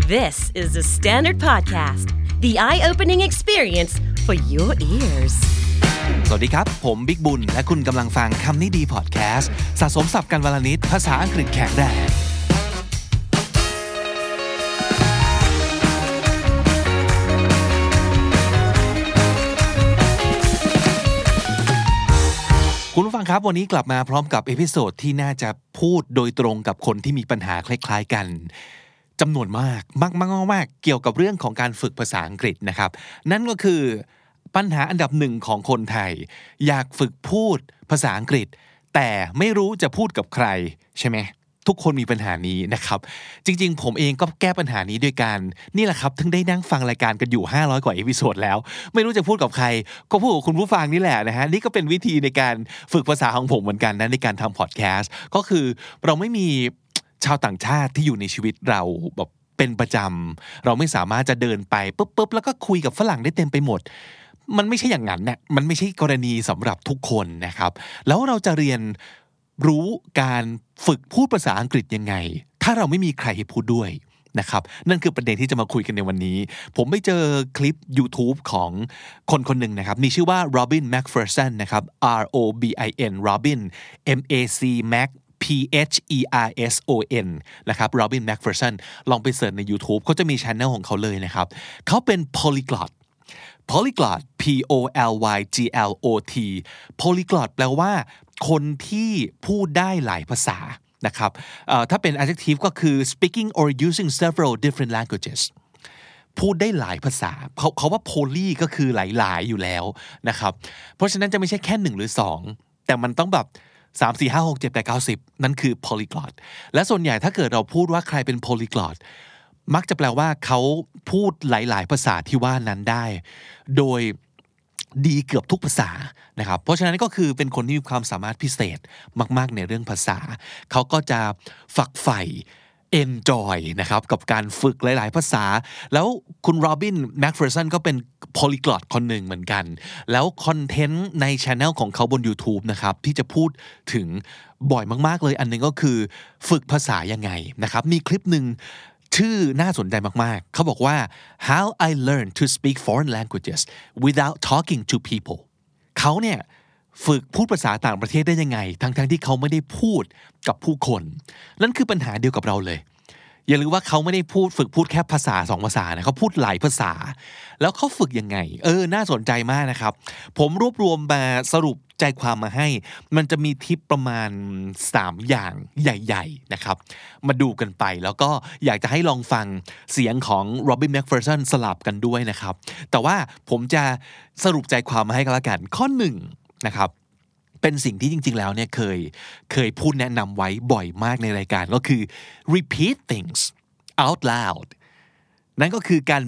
This is the Standard Podcast, the eye-opening experience for your ears. สวัสดีครับผมบิ๊กบุญและคุณกำลังฟังคำนี้ดีพอดแคสต์สะสมศัพท์กันวลนิดภาษาอังกฤษแข็งแรงคุณผู้ฟังครับวันนี้กลับมาพร้อมกับเอพิโซดที่น่าจะพูดโดยตรงกับคนที่มีปัญหาคล้ายๆกันจำนวนมากเกี่ยวกับเรื่องของการฝึกภาษาอังกฤษนะครับนั่นก็คือปัญหาอันดับหนึ่งของคนไทยอยากฝึกพูดภาษาอังกฤษแต่ไม่รู้จะพูดกับใครใช่ไหมทุกคนมีปัญหานี้นะครับจริงๆผมเองก็แก้ปัญหานี้ด้วยการนี่แหละครับถึงได้นั่งฟังรายการกันอยู่500กว่าเอพิโซดแล้วไม่รู้จะพูดกับใครก็พูดกับคุณผู้ฟังนี่แหละนะฮะนี่ก็เป็นวิธีในการฝึกภาษาของผมเหมือนกันนะในการทำพอดแคสต์ก็คือเราไม่มีชาวต่างชาติที่อยู่ในชีวิตเราแบบเป็นประจำเราไม่สามารถจะเดินไปปุ๊บแล้วก็คุยกับฝรั่งได้เต็มไปหมดมันไม่ใช่อย่างนั้นนะมันไม่ใช่กรณีสำหรับทุกคนนะครับแล้วเราจะเรียนรู้การฝึกพูดภาษาอังกฤษยังไงถ้าเราไม่มีใครให้พูดด้วยนะครับนั่นคือประเด็นที่จะมาคุยกันในวันนี้ผมไปเจอคลิป YouTube ของคนหนึ่งนะครับมีชื่อว่า Robin McPherson นะครับ ROBIN Robin MAC Mac PHERSON นะครับ Robin McPherson ลองไปเสิร์ชใน YouTube เขาจะมี channel ของเขาเลยนะครับเขาเป็น polyglot POLYGLOT polyglot แปลว่าคนที่พูดได้หลายภาษานะครับถ้าเป็น adjective ก็คือ speaking or using several different languages พูดได้หลายภาษาเขาว่า poly ก็คือหลายๆอยู่แล้วนะครับเพราะฉะนั้นจะไม่ใช่แค่1หรือ2แต่มันต้องแบบ3 4 5 6 7 8 9 10นั่นคือ polyglot และส่วนใหญ่ถ้าเกิดเราพูดว่าใครเป็น polyglotมักจะแปลว่าเขาพูดหลายๆภาษาที่ว่านั้นได้โดยดีเกือบทุกภาษานะครับเพราะฉะนั้นก็คือเป็นคนที่มีความสามารถพิเศษมากๆในเรื่องภาษาเขาก็จะฝักใฝ่ enjoy นะครับกับการฝึกหลายๆภาษาแล้วคุณโรบินแมคเฟอร์สันก็เป็น polyglot คนหนึ่งเหมือนกันแล้วคอนเทนต์ใน channel ของเขาบน YouTube นะครับที่จะพูดถึงบ่อยมากๆเลยอันนึงก็คือฝึกภาษายังไงนะครับมีคลิปหนึ่งชื่อน่าสนใจมากๆเขาบอกว่า How I learned to speak foreign languages without talking to people เขาเนี่ยฝึกพูดภาษาต่างประเทศได้ยังไงทั้งที่เขาไม่ได้พูดกับผู้คนนั่นคือปัญหาเดียวกับเราเลยอย่าลืมว่าเขาไม่ได้ฝึกพูดแค่ภาษา2ภาษานะเขาพูดหลายภาษาแล้วเขาฝึกยังไงน่าสนใจมากนะครับผมรวบรวมมาสรุปใจความมาให้มันจะมีทิปประมาณ3อย่างใหญ่ๆนะครับมาดูกันไปแล้วก็อยากจะให้ลองฟังเสียงของ Robin McPherson สลับกันด้วยนะครับแต่ว่าผมจะสรุปใจความมาให้กันละกันข้อ1นะครับเป็นสิ่งที่จริงๆแล้วเนี่ยเคยพูดแนะนำไว้บ่อยมากในรายการก็คือ repeat things out loud นั่นก็คือการ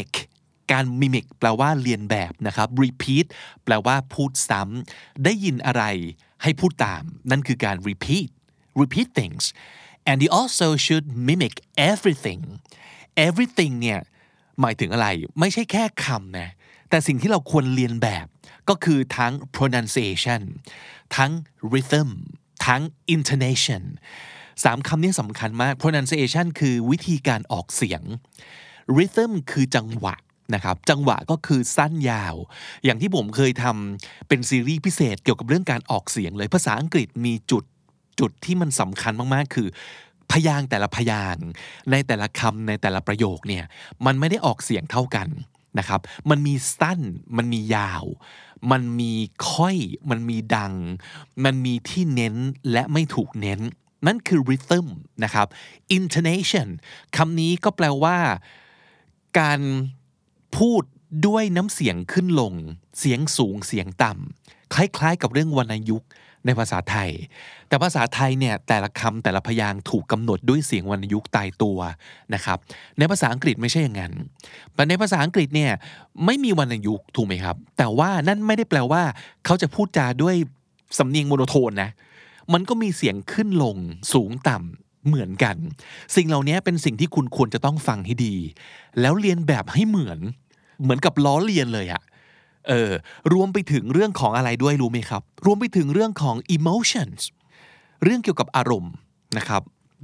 mimic แปลว่าเรียนแบบนะครับ repeat แปลว่าพูดซ้ำได้ยินอะไรให้พูดตามนั่นคือการ repeat things and you also should mimic everything เนี่ยหมายถึงอะไรไม่ใช่แค่คำนะแต่สิ่งที่เราควรเรียนแบบก็คือทั้ง pronunciation ทั้ง rhythm ทั้ง intonation 3 คำนี้สำคัญมาก pronunciation คือวิธีการออกเสียง rhythm คือจังหวะนะครับจังหวะก็คือสั้นยาวอย่างที่ผมเคยทำเป็นซีรีส์พิเศษเกี่ยวกับเรื่องการออกเสียงเลยภาษาอังกฤษมีจุดที่มันสำคัญมากๆคือพยางค์แต่ละพยางค์ในแต่ละคำในแต่ละประโยคเนี่ยมันไม่ได้ออกเสียงเท่ากันนะครับมันมีสั้นมันมียาวมันมีค่อยมันมีดังมันมีที่เน้นและไม่ถูกเน้นนั่นคือ rhythm นะครับ intonation คำนี้ก็แปลว่าการพูดด้วยน้ำเสียงขึ้นลงเสียงสูงเสียงต่ำคล้ายๆกับเรื่องวรรณยุกต์ในภาษาไทยแต่ภาษาไทยเนี่ยแต่ละคำแต่ละพยางค์ถูกกำหนดด้วยเสียงวรรณยุกต์ตายตัวนะครับในภาษาอังกฤษไม่ใช่อย่างนั้นแต่ในภาษาอังกฤษเนี่ยไม่มีวรรณยุกต์ถูกไหมครับแต่ว่านั่นไม่ได้แปลว่าเขาจะพูดจาด้วยสำเนียงโมโนโทนนะมันก็มีเสียงขึ้นลงสูงต่ำเหมือนกันสิ่งเหล่านี้เป็นสิ่งที่คุณควรจะต้องฟังให้ดีแล้วเรียนแบบให้เหมือนกับล้อเลียนเลยอะรวมไปถึงเรื่องของอะไรด้วยรู้ไหมครับรวมไปถึงเรื่องของ emotions เรื่องเกี่ยวกับอารมณ์นะครับ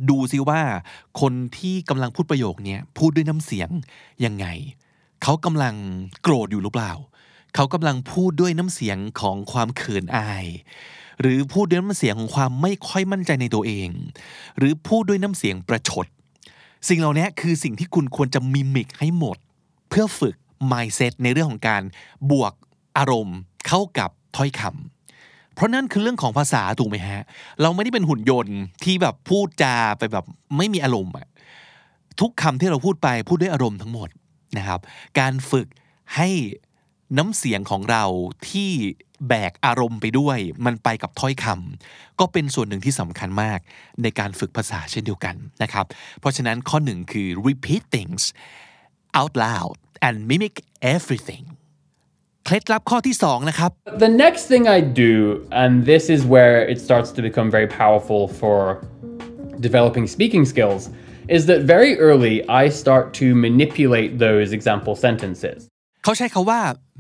ดูซิว่าคนที่กำลังพูดประโยคนี้พูดด้วยน้ำเสียงยังไงเขากำลังโกรธอยู่หรือเปล่าเขากำลังพูดด้วยน้ำเสียงของความเขินอายหรือพูดด้วยน้ำเสียงของความไม่ค่อยมั่นใจในตัวเองหรือพูดด้วยน้ำเสียงประชดสิ่งเหล่านี้คือสิ่งที่คุณควรจะมิมิกให้หมดเพื่อฝึก mindset ในเรื่องของการบวกอารมณ์เข้ากับถ้อยคำเพราะนั่นคือเรื่องของภาษาถูกไหมฮะเราไม่ได้เป็นหุ่นยนต์ที่แบบพูดจาไปแบบไม่มีอารมณ์ทุกคำที่เราพูดไปพูดด้วยอารมณ์ทั้งหมดนะครับการฝึกให้น้ำเสียงของเราที่แบกอารมณ์ไปด้วยมันไปกับถ้อยคำก็เป็นส่วนหนึ่งที่สำคัญมากในการฝึกภาษาเช่นเดียวกันนะครับเพราะฉะนั้นข้อหนึ่งคือ repeat things out loud and mimic everything เคล็ดลับข้อที่2นะครับ The next thing I do, and this is where it starts to become very powerful for developing speaking skills, is that very early I start to manipulate those example sentences. เขาใช้คาว่า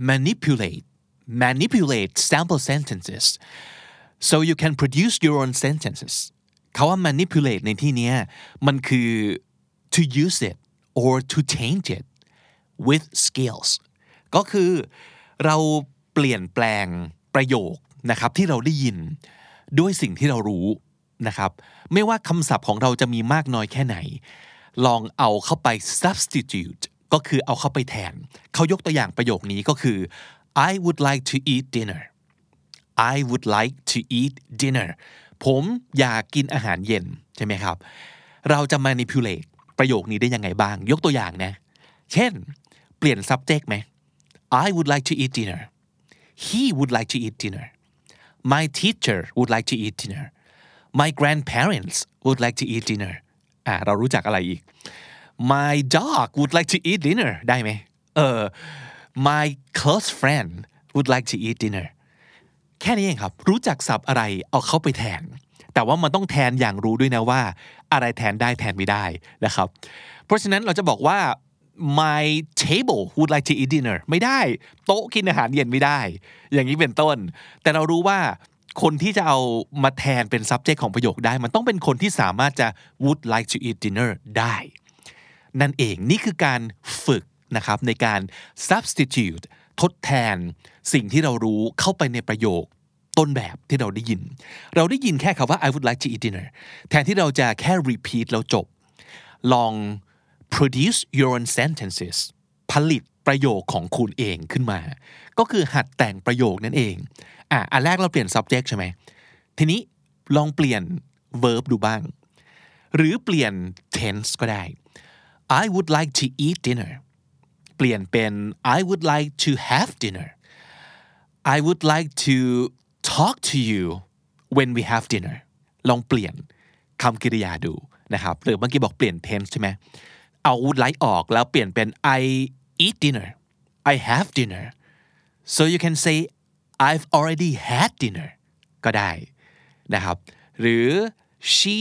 manipulate sample sentences so you can produce your own sentences เขาว่า manipulate ในที่นี้มันคือ to use it or to change it with skills ก็คือเราเปลี่ยนแปลงประโยคนะครับที่เราได้ยินด้วยสิ่งที่เรารู้นะครับไม่ว่าคำศัพท์ของเราจะมีมากน้อยแค่ไหนลองเอาเข้าไป substitute ก็คือเอาเข้าไปแทนเขายกตัวอย่างประโยคนี้ก็คือ I would like to eat dinner I would like to eat dinner ผมอยากกินอาหารเย็นใช่ไหมครับเราจะ manipulate ประโยคนี้ได้ยังไงบ้างยกตัวอย่างนะเช่นเปลี่ยน subject ไหม I would like to eat dinner He would like to eat dinner My teacher would like to eat dinner My grandparents would like to eat dinner เรารู้จักอะไรอีก My dog would like to eat dinner ได้ไหมMy close friend would like to eat dinner แค่นี้เองครับรู้จักศัพท์อะไรเอาเข้าไปแทนแต่ว่ามันต้องแทนอย่างรู้ด้วยนะว่าอะไรแทนได้แทนไม่ได้นะครับเพราะฉะนั้นเราจะบอกว่า My table would like to eat dinner ไม่ได้โต๊ะกินอาหารเย็นไม่ได้อย่างนี้เป็นต้นแต่เรารู้ว่าคนที่จะเอามาแทนเป็น subject ของประโยคได้มันต้องเป็นคนที่สามารถจะ would like to eat dinner ได้นั่นเองนี่คือการฝึกนะครับในการ substitute ทดแทนสิ่งที่เรารู้เข้าไปในประโยคต้นแบบที่เราได้ยินแค่คำว่า I would like to eat dinner แทนที่เราจะแค่ repeat แล้วจบลอง produce your own sentences ผลิตประโยคของคุณเองขึ้นมาก็คือหัดแต่งประโยคนั่นเองอันแรกเราเปลี่ยน subject ใช่ไหมทีนี้ลองเปลี่ยน verb ดูบ้างหรือเปลี่ยน tense ก็ได้ I would like to eat dinner เปลี่ยนเป็น I would like to have dinner I would like to talk to you when we have dinner ลองเปลี่ยนคำกริยาดูนะครับหรือเมื่อกี้บอกเปลี่ยน tense ใช่ไหมเอา would like ออกแล้วเปลี่ยนเป็น I eat dinner I have dinner so you can say I've already had dinner ก็ได้นะครับหรือ she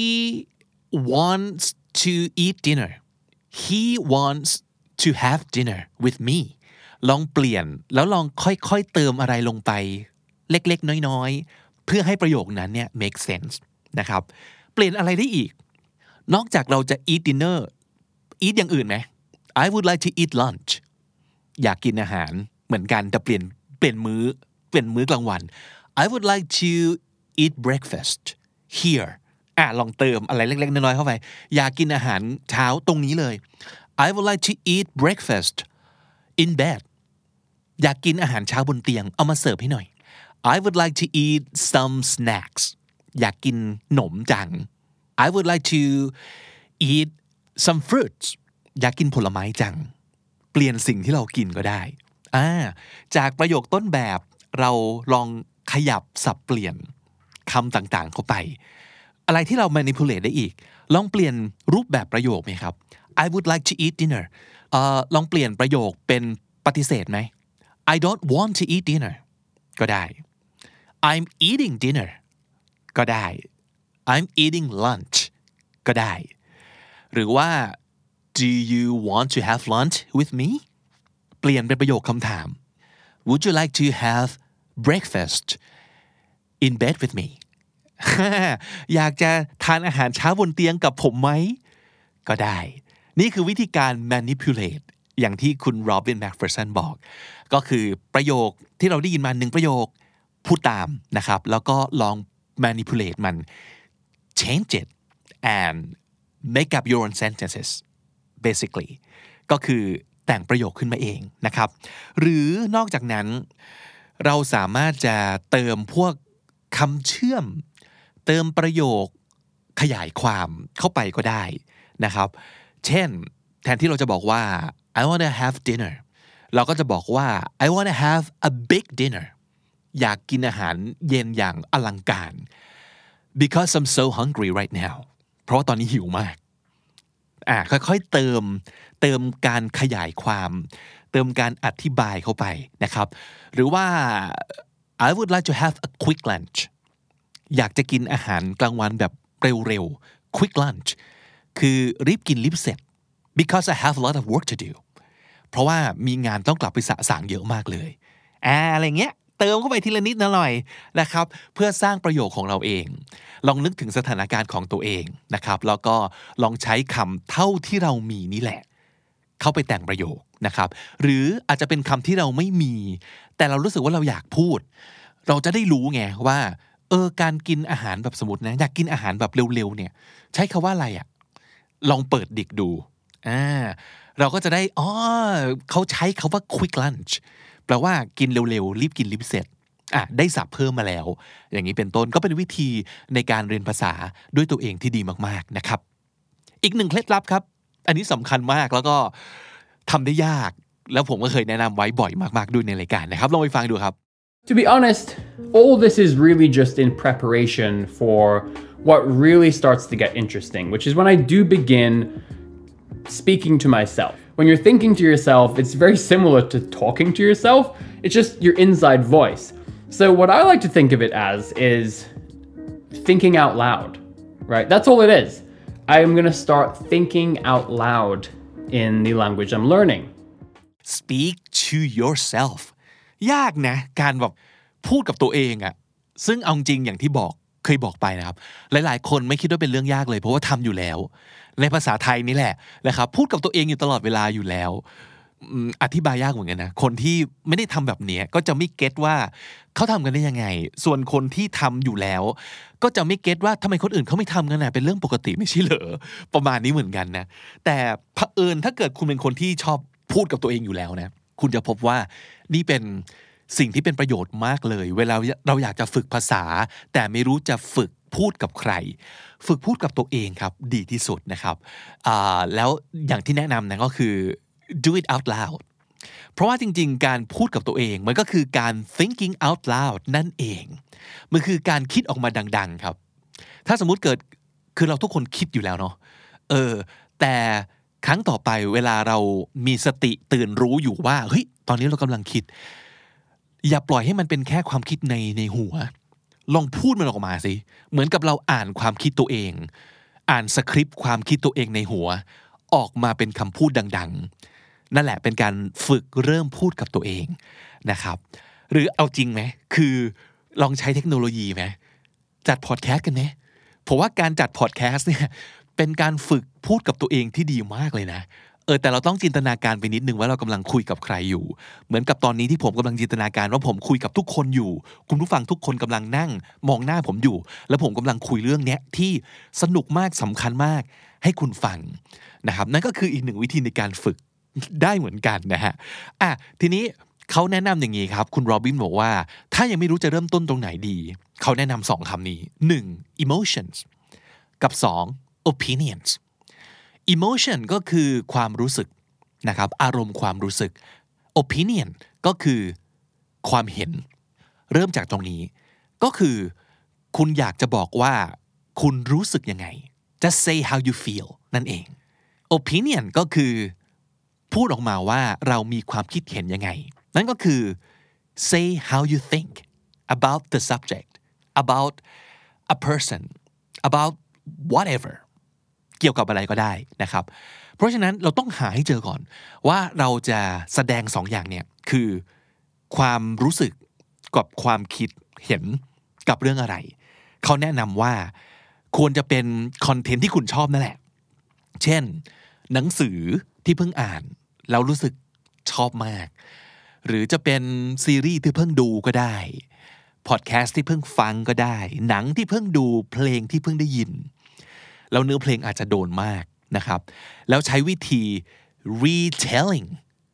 wants to eat dinner he wants to have dinner with me ลองเปลี่ยนแล้วลองค่อยๆเติมอะไรลงไปเล็กๆน้อยๆเพื่อให้ประโยคนั้นเนี่ย make sense นะครับเปลี่ยนอะไรได้อีกนอกจากเราจะ eat dinner eat อย่างอื่นไหม I would like to eat lunch อยากกินอาหารเหมือนกันแต่เปลี่ยนมื้อกลางวัน I would like to eat breakfast here ลองเติมอะไรเล็กๆน้อยๆเข้าไปอยากกินอาหารเช้าตรงนี้เลย I would like to eat breakfast in bed อยากกินอาหารเช้าบนเตียงเอามาเสิร์ฟให้หน่อย I would like to eat some snacks อยากกินขนมจัง I would like to eat some fruits อยากกินผลไม้จังเปลี่ยนสิ่งที่เรากินก็ได้จากประโยคต้นแบบเราลองขยับสับเปลี่ยนคำต่างๆเข้าไปอะไรที่เรา manipulate ได้อีกลองเปลี่ยนรูปแบบประโยคไหมครับ I would like to eat dinner ลองเปลี่ยนประโยคเป็นปฏิเสธไหม I don't want to eat dinner ก็ได้ I'm eating dinner ก็ได้ I'm eating lunch ก็ได้หรือว่า Do you want to have lunch with me เปลี่ยนเป็นประโยคคำถาม Would you like to have breakfast in bed with me อยากจะทานอาหารเช้าบนเตียงกับผมไหมก็ได้นี่คือวิธีการ manipulate อย่างที่คุณโรบินแมคเฟอร์สันบอกก็คือประโยคที่เราได้ยินมา1ประโยคพูดตามนะครับแล้วก็ลอง manipulate มัน change it and make up your own sentences basically ก็คือแต่งประโยคขึ้นมาเองนะครับหรือนอกจากนั้นเราสามารถจะเติมพวกคำเชื่อมเติมประโยคขยายความเข้าไปก็ได้นะครับเช่นแทนที่เราจะบอกว่า I want to have dinner เราก็จะบอกว่า I want to have a big dinner อยากกินอาหารเย็นอย่างอลังการ because I'm so hungry right now เพราะว่าตอนนี้หิวมากค่อยๆเติมการขยายความเติมการอธิบายเข้าไปนะครับหรือว่า I would like to have a quick lunch อยากจะกินอาหารกลางวันแบบเร็วๆ quick lunch คือรีบกินรีบเสร็จ because I have a lot of work to do เพราะว่ามีงานต้องกลับไปสะสางเยอะมากเลยอะไรเงี้ยเติมเข้าไปทีละนิดหน่อยนะครับเพื่อสร้างประโยคของเราเองลองนึกถึงสถานการณ์ของตัวเองนะครับแล้วก็ลองใช้คำเท่าที่เรามีนี่แหละเข้าไปแต่งประโยคนะครับหรืออาจจะเป็นคำที่เราไม่มีแต่เรารู้สึกว่าเราอยากพูดเราจะได้รู้ไงว่าการกินอาหารแบบสมมตินะอยากกินอาหารแบบเร็วๆเนี่ยใช้คำว่าอะไรอ่ะลองเปิดดิกดูเราก็จะได้เขาใช้คำว่า quick lunch แปลว่ากินเร็วๆรีบกินรีบเสร็จได้ศัพท์เพิ่มมาแล้วอย่างนี้เป็นต้นก็เป็นวิธีในการเรียนภาษาด้วยตัวเองที่ดีมากๆนะครับอีกหนึ่งเคล็ดลับครับอันนี้สำคัญมากแล้วก็ทำได้ยากแล้วผมก็เคยแนะนำไว้บ่อยมากๆด้วยในรายการนะครับลองไปฟังดูครับ To be honest, all this is really just in preparation for what really starts to get interesting, which is when I do begin speaking to myself. When you're thinking to yourself, it's very similar to talking to yourself. It's just your inside voice. So what I like to think of it as is thinking out loud, right? That's all it is. I'm going to start thinking out loud in the language I'm learning. Speak to yourself ยากนะการแบบพูดกับตัวเองอะซึ่งเอาจริงอย่างที่เคยบอกไปนะครับหลายๆคนไม่คิดว่าเป็นเรื่องยากเลยเพราะว่าทำอยู่แล้วในภาษาไทยนี่แหละนะครับพูดกับตัวเองอยู่ตลอดเวลาอยู่แล้วอธิบายยากเหมือนกันนะคนที่ไม่ได้ทำแบบนี้ก็จะไม่เก็ตว่าเขาทำกันได้ยังไงส่วนคนที่ทำอยู่แล้วก็จะไม่เก็ตว่าทำไมคนอื่นเขาไม่ทำกันนะเป็นเรื่องปกติไม่ใช่เหรอประมาณนี้เหมือนกันนะแต่เผอิญถ้าเกิดคุณเป็นคนที่ชอบพูดกับตัวเองอยู่แล้วนะคุณจะพบว่านี่เป็นสิ่งที่เป็นประโยชน์มากเลยเวลาเราอยากจะฝึกภาษาแต่ไม่รู้จะฝึกพูดกับใครฝึกพูดกับตัวเองครับดีที่สุดนะครับแล้วอย่างที่แนะนำนะก็คือ do it out loud เพราะว่าจริงๆการพูดกับตัวเองมันก็คือการ thinking out loud นั่นเองมันคือการคิดออกมาดังๆครับถ้าสมมุติเกิดคือเราทุกคนคิดอยู่แล้วเนาะแต่ครั้งต่อไปเวลาเรามีสติตื่นรู้อยู่ว่าเฮ้ยตอนนี้เรากำลังคิดอย่าปล่อยให้มันเป็นแค่ความคิดในหัวลองพูดมันออกมาสิเหมือนกับเราอ่านความคิดตัวเองอ่านสคริปต์ความคิดตัวเองในหัวออกมาเป็นคำพูดดังๆนั่นแหละเป็นการฝึกเริ่มพูดกับตัวเองนะครับหรือเอาจริงไหมคือลองใช้เทคโนโลยีไหมจัดพอดแคสต์กันไหมผมว่าการจัดพอดแคสต์เนี่ยเป็นการฝึกพูดกับตัวเองที่ดีมากเลยนะแต่เราต้องจินตนาการไปนิดนึงว่าเรากำลังคุยกับใครอยู่เหมือนกับตอนนี้ที่ผมกำลังจินตนาการว่าผมคุยกับทุกคนอยู่คุณผู้ฟังทุกคนกำลังนั่งมองหน้าผมอยู่แล้วผมกำลังคุยเรื่องนี้ที่สนุกมากสำคัญมากให้คุณฟังนะครับนั่นก็คืออีกหนึ่งวิธีในการฝึกได้เหมือนกันนะฮะทีนี้เขาแนะนำอย่างนี้ครับคุณโรบินบอกว่าถ้ายังไม่รู้จะเริ่มต้นตรงไหนดีเขาแนะนำ2คำนี้1 emotions กับ2 opinions emotion ก็คือความรู้สึกนะครับอารมณ์ความรู้สึก opinion ก็คือความเห็นเริ่มจากตรงนี้ก็คือคุณอยากจะบอกว่าคุณรู้สึกยังไง just say how you feel นั่นเอง opinion ก็คือพูดออกมาว่าเรามีความคิดเห็นยังไงนั่นก็คือ say how you think about the subject about a person about whateverเกี่ยวกับอะไรก็ได้นะครับเพราะฉะนั้นเราต้องหาให้เจอก่อนว่าเราจะแสดง2อย่างเนี่ยคือความรู้สึกกับความคิดเห็นกับเรื่องอะไรเขาแนะนำว่าควรจะเป็นคอนเทนต์ที่คุณชอบนั่นแหละเช่นหนังสือที่เพิ่งอ่านแล้วรู้สึกชอบมากหรือจะเป็นซีรีส์ที่เพิ่งดูก็ได้พอดแคสต์ที่เพิ่งฟังก็ได้หนังที่เพิ่งดูเพลงที่เพิ่งได้ยินแล้วเนื้อเพลงอาจจะโดนมากนะครับแล้วใช้วิธี retelling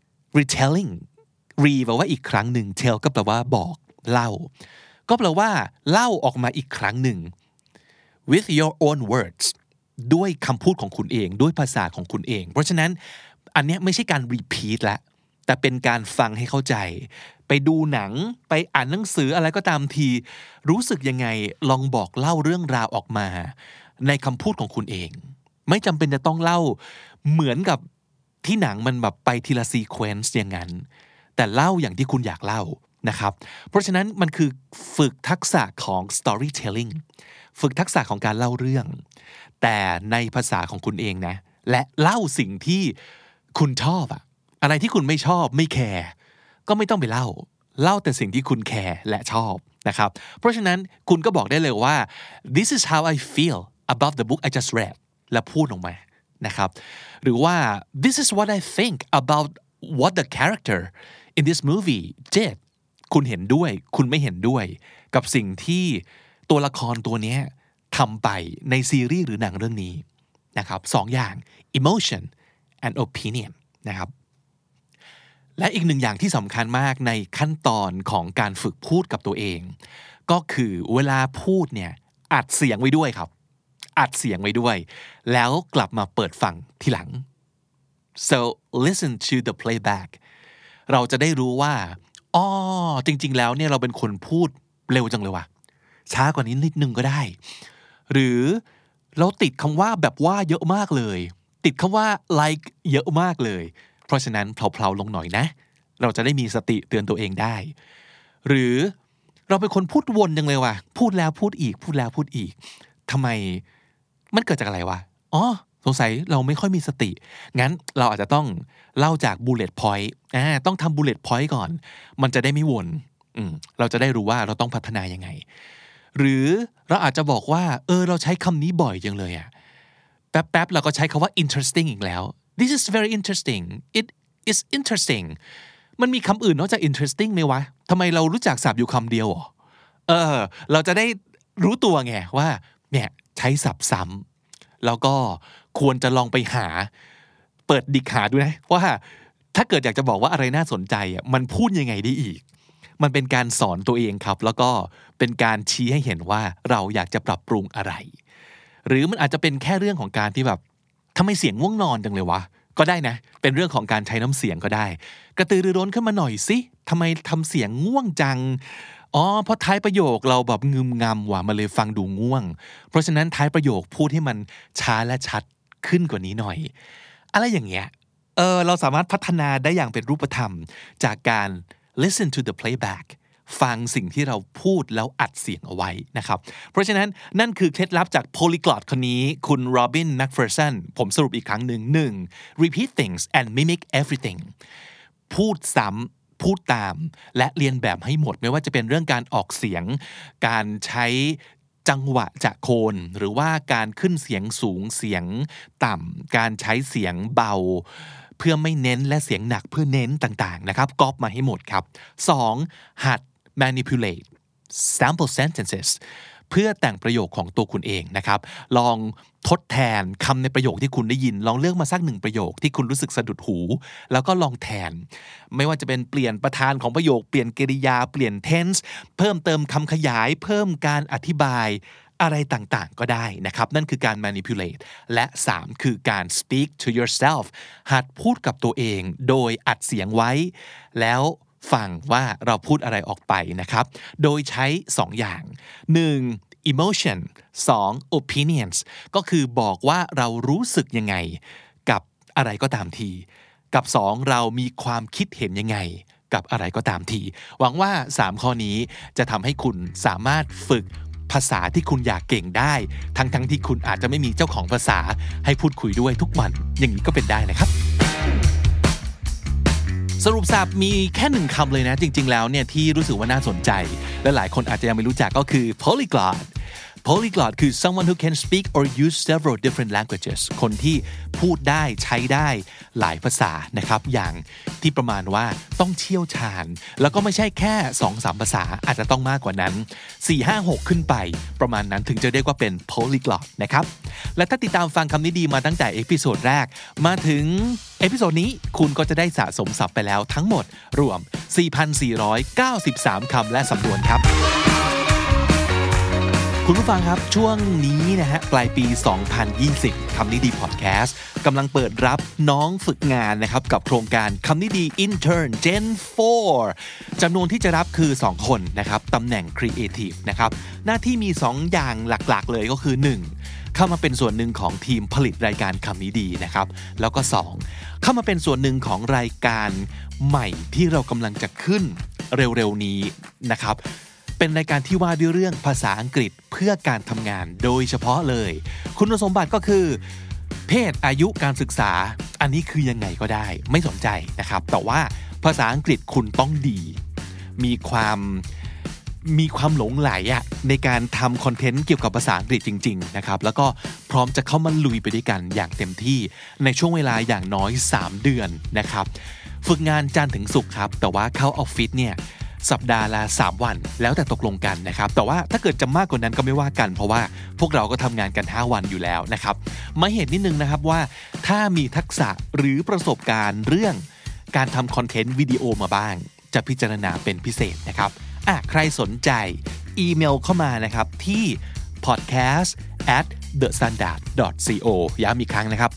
re แปลว่าอีกครั้งหนึ่ง tell ก็แปลว่าบอกเล่าก็แปลว่าเล่าออกมาอีกครั้งหนึ่ง with your own words ด้วยคำพูดของคุณเองด้วยภาษาของคุณเองเพราะฉะนั้นอันนี้ไม่ใช่การ repeat ละแต่เป็นการฟังให้เข้าใจไปดูหนังไปอ่านหนังสืออะไรก็ตามทีรู้สึกยังไงลองบอกเล่าเรื่องราวออกมาในคำพูดของคุณเองไม่จำเป็นจะต้องเล่าเหมือนกับที่หนังมันแบบไปทีละซีเควนซ์อย่างนั้นแต่เล่าอย่างที่คุณอยากเล่านะครับเพราะฉะนั้นมันคือฝึกทักษะของ storytelling ฝึกทักษะของการเล่าเรื่องแต่ในภาษาของคุณเองนะและเล่าสิ่งที่คุณชอบอะไรที่คุณไม่ชอบไม่แคร์ก็ไม่ต้องไปเล่าแต่สิ่งที่คุณแคร์และชอบนะครับเพราะฉะนั้นคุณก็บอกได้เลยว่า this is how I feel about the book I just read และพูดออกมานะครับหรือว่า this is what I think about what the character in this movie did คุณเห็นด้วยคุณไม่เห็นด้วยกับสิ่งที่ตัวละครตัวนี้ทำไปในซีรีส์หรือหนังเรื่องนี้นะครับสองอย่าง emotion and opinion นะครับและอีกหนึ่งอย่างที่สำคัญมากในขั้นตอนของการฝึกพูดกับตัวเองก็คือเวลาพูดเนี่ยอัดเสียงไว้ด้วยครับอัดเสียงไว้ด้วยแล้วกลับมาเปิดฟังทีหลัง so listen to the playback เราจะได้รู้ว่าจริงๆแล้วเนี่ยเราเป็นคนพูดเร็วจังเลยว่ะช้ากว่านี้นิดนึงก็ได้หรือเราติดคำว่าแบบว่าเยอะมากเลยติดคำว่า like เยอะมากเลยเพราะฉะนั้นเพลาๆลงหน่อยนะเราจะได้มีสติเตือนตัวเองได้หรือเราเป็นคนพูดวนจังเลยว่ะพูดแล้วพูดอีกพูดแล้วพูดอีกทำไมมันเกิดจากอะไรวะสงสัยเราไม่ค่อยมีสติงั้นเราอาจจะต้องเล่าจาก bullet point ต้องทำ bullet point ก่อนมันจะได้ไม่วนเราจะได้รู้ว่าเราต้องพัฒนายังไงหรือเราอาจจะบอกว่าเราใช้คำนี้บ่อยจังเลยแป๊บๆเราก็ใช้คำว่า interesting อีกแล้ว this is very interesting it is interesting มันมีคำอื่นนอกจาก interesting ไหมวะทำไมเรารู้จักศัพท์อยู่คำเดียวเราจะได้รู้ตัวไงว่าเนี่ยใช้ศัพท์ซ้ำแล้วก็ควรจะลองไปเปิดดิกหาดูนะว่าถ้าเกิดอยากจะบอกว่าอะไรน่าสนใจมันพูดยังไงได้อีกมันเป็นการสอนตัวเองครับแล้วก็เป็นการชี้ให้เห็นว่าเราอยากจะปรับปรุงอะไรหรือมันอาจจะเป็นแค่เรื่องของการที่แบบทำไมเสียงง่วงนอนจังเลยวะก็ได้นะเป็นเรื่องของการใช้น้ำเสียงก็ได้กระตือรือร้นขึ้นมาหน่อยสิทำไมทำเสียงง่วงจังเพราะท้ายประโยคเราแบบงึมงำว่ะมันเลยฟังดูง่วงเพราะฉะนั้นท้ายประโยคพูดให้มันช้าและชัดขึ้นกว่านี้หน่อยอะไรอย่างเงี้ยเราสามารถพัฒนาได้อย่างเป็นรูปธรรมจากการ listen to the playback ฟังสิ่งที่เราพูดแล้วอัดเสียงเอาไว้นะครับเพราะฉะนั้นนั่นคือเคล็ดลับจาก polyglot คนนี้คุณโรบิน แมคเฟอร์สันผมสรุปอีกครั้งหนึ่ง 1. repeat things and mimic everything พูดซ้ำพูดตามและเรียนแบบให้หมดไม่ว่าจะเป็นเรื่องการออกเสียงการใช้จังหวะจะโคนหรือว่าการขึ้นเสียงสูงเสียงต่ำการใช้เสียงเบาเพื่อไม่เน้นและเสียงหนักเพื่อเน้นต่างๆนะครับก๊อปมาให้หมดครับ 2. หัด manipulate sample sentences เพื่อแต่งประโยคของตัวคุณเองนะครับลองทดแทนคำในประโยคที่คุณได้ยินลองเลือกมาสัก1ประโยคที่คุณรู้สึกสะดุดหูแล้วก็ลองแทนไม่ว่าจะเป็นเปลี่ยนประธานของประโยคเปลี่ยนกริยาเปลี่ยน tense เพิ่มเติมคำขยายเพิ่มการอธิบายอะไรต่างๆก็ได้นะครับนั่นคือการ manipulate และ 3 คือการ speak to yourself หัดพูดกับตัวเองโดยอัดเสียงไว้แล้วฟังว่าเราพูดอะไรออกไปนะครับโดยใช้2อย่าง1 emotion 2 opinions ก็คือบอกว่าเรารู้สึกยังไงกับอะไรก็ตามทีกับ2เรามีความคิดเห็นยังไงกับอะไรก็ตามทีหวังว่า3ข้อนี้จะทำให้คุณสามารถฝึกภาษาที่คุณอยากเก่งได้ทั้งที่คุณอาจจะไม่มีเจ้าของภาษาให้พูดคุยด้วยทุกวันอย่างนี้ก็เป็นได้นะครับสรุปสับมีแค่1คำเลยนะจริงๆแล้วเนี่ยที่รู้สึกว่าน่าสนใจและหลายคนอาจจะยังไม่รู้จักก็คือ polyglot Polyglot คือ someone who can speak or use several different languages คนที่พูดได้ใช้ได้หลายภาษานะครับอย่างที่ประมาณว่าต้องเชี่ยวชาญแล้วก็ไม่ใช่แค่ 2-3 ภาษาอาจจะต้องมากกว่านั้น 4-5-6 ขึ้นไปประมาณนั้นถึงจะเรียกว่าเป็น Polyglot นะครับและถ้าติดตามฟังคำนี้ดีมาตั้งแต่เอพิโซดแรกมาถึงเอพิโซดนี้คุณก็จะได้สะสมศัพท์ไปแล้วทั้งหมดรวม 4,493 คำและสำนวนครับคุณผู้ฟังครับช่วงนี้นะฮะปลายปี 2020 คำนี้ดีพอดแคสต์กำลังเปิดรับน้องฝึกงานนะครับกับโครงการคำนี้ดี Intern Gen 4 จำนวนที่จะรับคือ 2 คนนะครับตำแหน่ง Creative นะครับหน้าที่มี 2 อย่างหลักๆเลยก็คือ 1. เข้ามาเป็นส่วนหนึ่งของทีมผลิตรายการคำนี้ดีนะครับแล้วก็ 2. เข้ามาเป็นส่วนหนึ่งของรายการใหม่ที่เรากำลังจะขึ้นเร็วๆนี้นะครับเป็นรายการที่ว่าด้วยเรื่องภาษาอังกฤษเพื่อการทำงานโดยเฉพาะเลยคุณสมบัติก็คือเพศอายุการศึกษาอันนี้คือยังไงก็ได้ไม่สนใจนะครับแต่ว่าภาษาอังกฤษคุณต้องดีมีความหลงไหลในการทำคอนเทนต์เกี่ยวกับภาษาอังกฤษจริงๆนะครับแล้วก็พร้อมจะเข้ามาลุยไปด้วยกันอย่างเต็มที่ในช่วงเวลาอย่างน้อย3เดือนนะครับฝึกงานจันทร์ถึงศุกร์ครับแต่ว่าเข้าออฟฟิศเนี่ยสัปดาห์ละ3วันแล้วแต่ตกลงกันนะครับแต่ว่าถ้าเกิดจะมากกว่านั้นก็ไม่ว่ากันเพราะว่าพวกเราก็ทำงานกัน5วันอยู่แล้วนะครับมาเห็นนิดนึงนะครับว่าถ้ามีทักษะหรือประสบการณ์เรื่องการทำคอนเทนต์วิดีโอมาบ้างจะพิจารณาเป็นพิเศษนะครับใครสนใจอีเมลเข้ามานะครับที่ podcast@thestandard.co ย้ำอีกครั้งนะครับ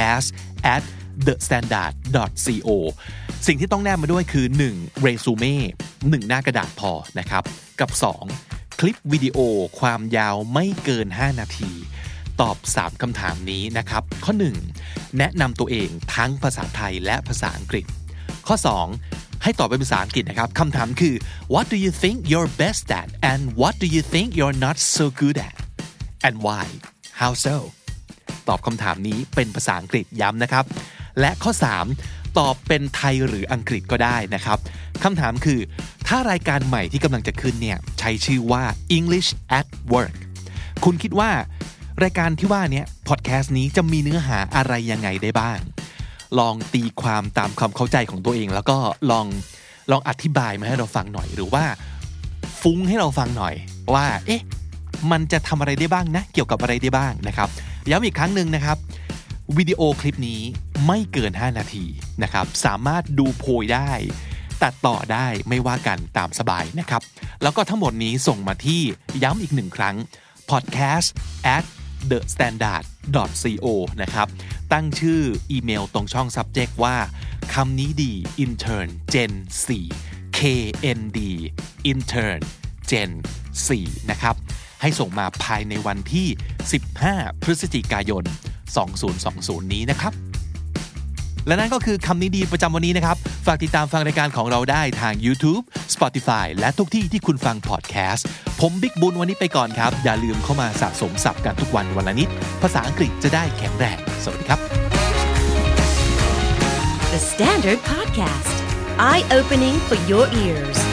podcast@thestandard.co สิ่งที่ต้องแนบมาด้วยคือ 1. เรซูเม่ 1 หน้ากระดาษพอนะครับกับ 2. คลิปวิดีโอความยาวไม่เกิน5นาทีตอบ3คำถามนี้นะครับข้อ 1. แนะนำตัวเองทั้งภาษาไทยและภาษาอังกฤษข้อ 2. ให้ตอบเป็นภาษาอังกฤษนะครับคำถามคือ What do you think you're best at and what do you think you're not so good at and why how so ตอบคำถามนี้เป็นภาษาอังกฤษย้ำนะครับและข้อ 3 ตอบเป็นไทยหรืออังกฤษก็ได้นะครับคำถามคือถ้ารายการใหม่ที่กำลังจะขึ้นเนี่ยใช้ชื่อว่า English at Work คุณคิดว่ารายการที่ว่านี้พอดแคสต์นี้จะมีเนื้อหาอะไรยังไงได้บ้างลองตีความตามความเข้าใจของตัวเองแล้วก็ลองอธิบายมาให้เราฟังหน่อยหรือว่าฟุ้งให้เราฟังหน่อยว่ามันจะทำอะไรได้บ้างนะเกี่ยวกับอะไรได้บ้างนะครับย้ำอีกครั้งหนึ่งนะครับวิดีโอคลิปนี้ไม่เกิน5นาทีนะครับสามารถดูโพยได้ตัดต่อได้ไม่ว่ากันตามสบายนะครับแล้วก็ทั้งหมดนี้ส่งมาที่ย้ำอีก1ครั้ง podcast@thestandard.co นะครับตั้งชื่ออีเมลตรงช่อง subject ว่าคำนี้ดี intern gen 4 KND intern gen 4นะครับให้ส่งมาภายในวันที่15พฤศจิกายน2020นี้นะครับและนั่นก็คือคำนี้ดีประจำวันนี้นะครับฝากติดตามฟังรายการของเราได้ทาง YouTube Spotify และทุกที่ที่คุณฟังพอดแคสต์ผมบิ๊กบุญวันนี้ไปก่อนครับอย่าลืมเข้ามาสะสมศัพท์กันทุกวันวันละนิดภาษาอังกฤษจะได้แข็งแรงสวัสดีครับ The Standard Podcast Eye Opening for Your Ears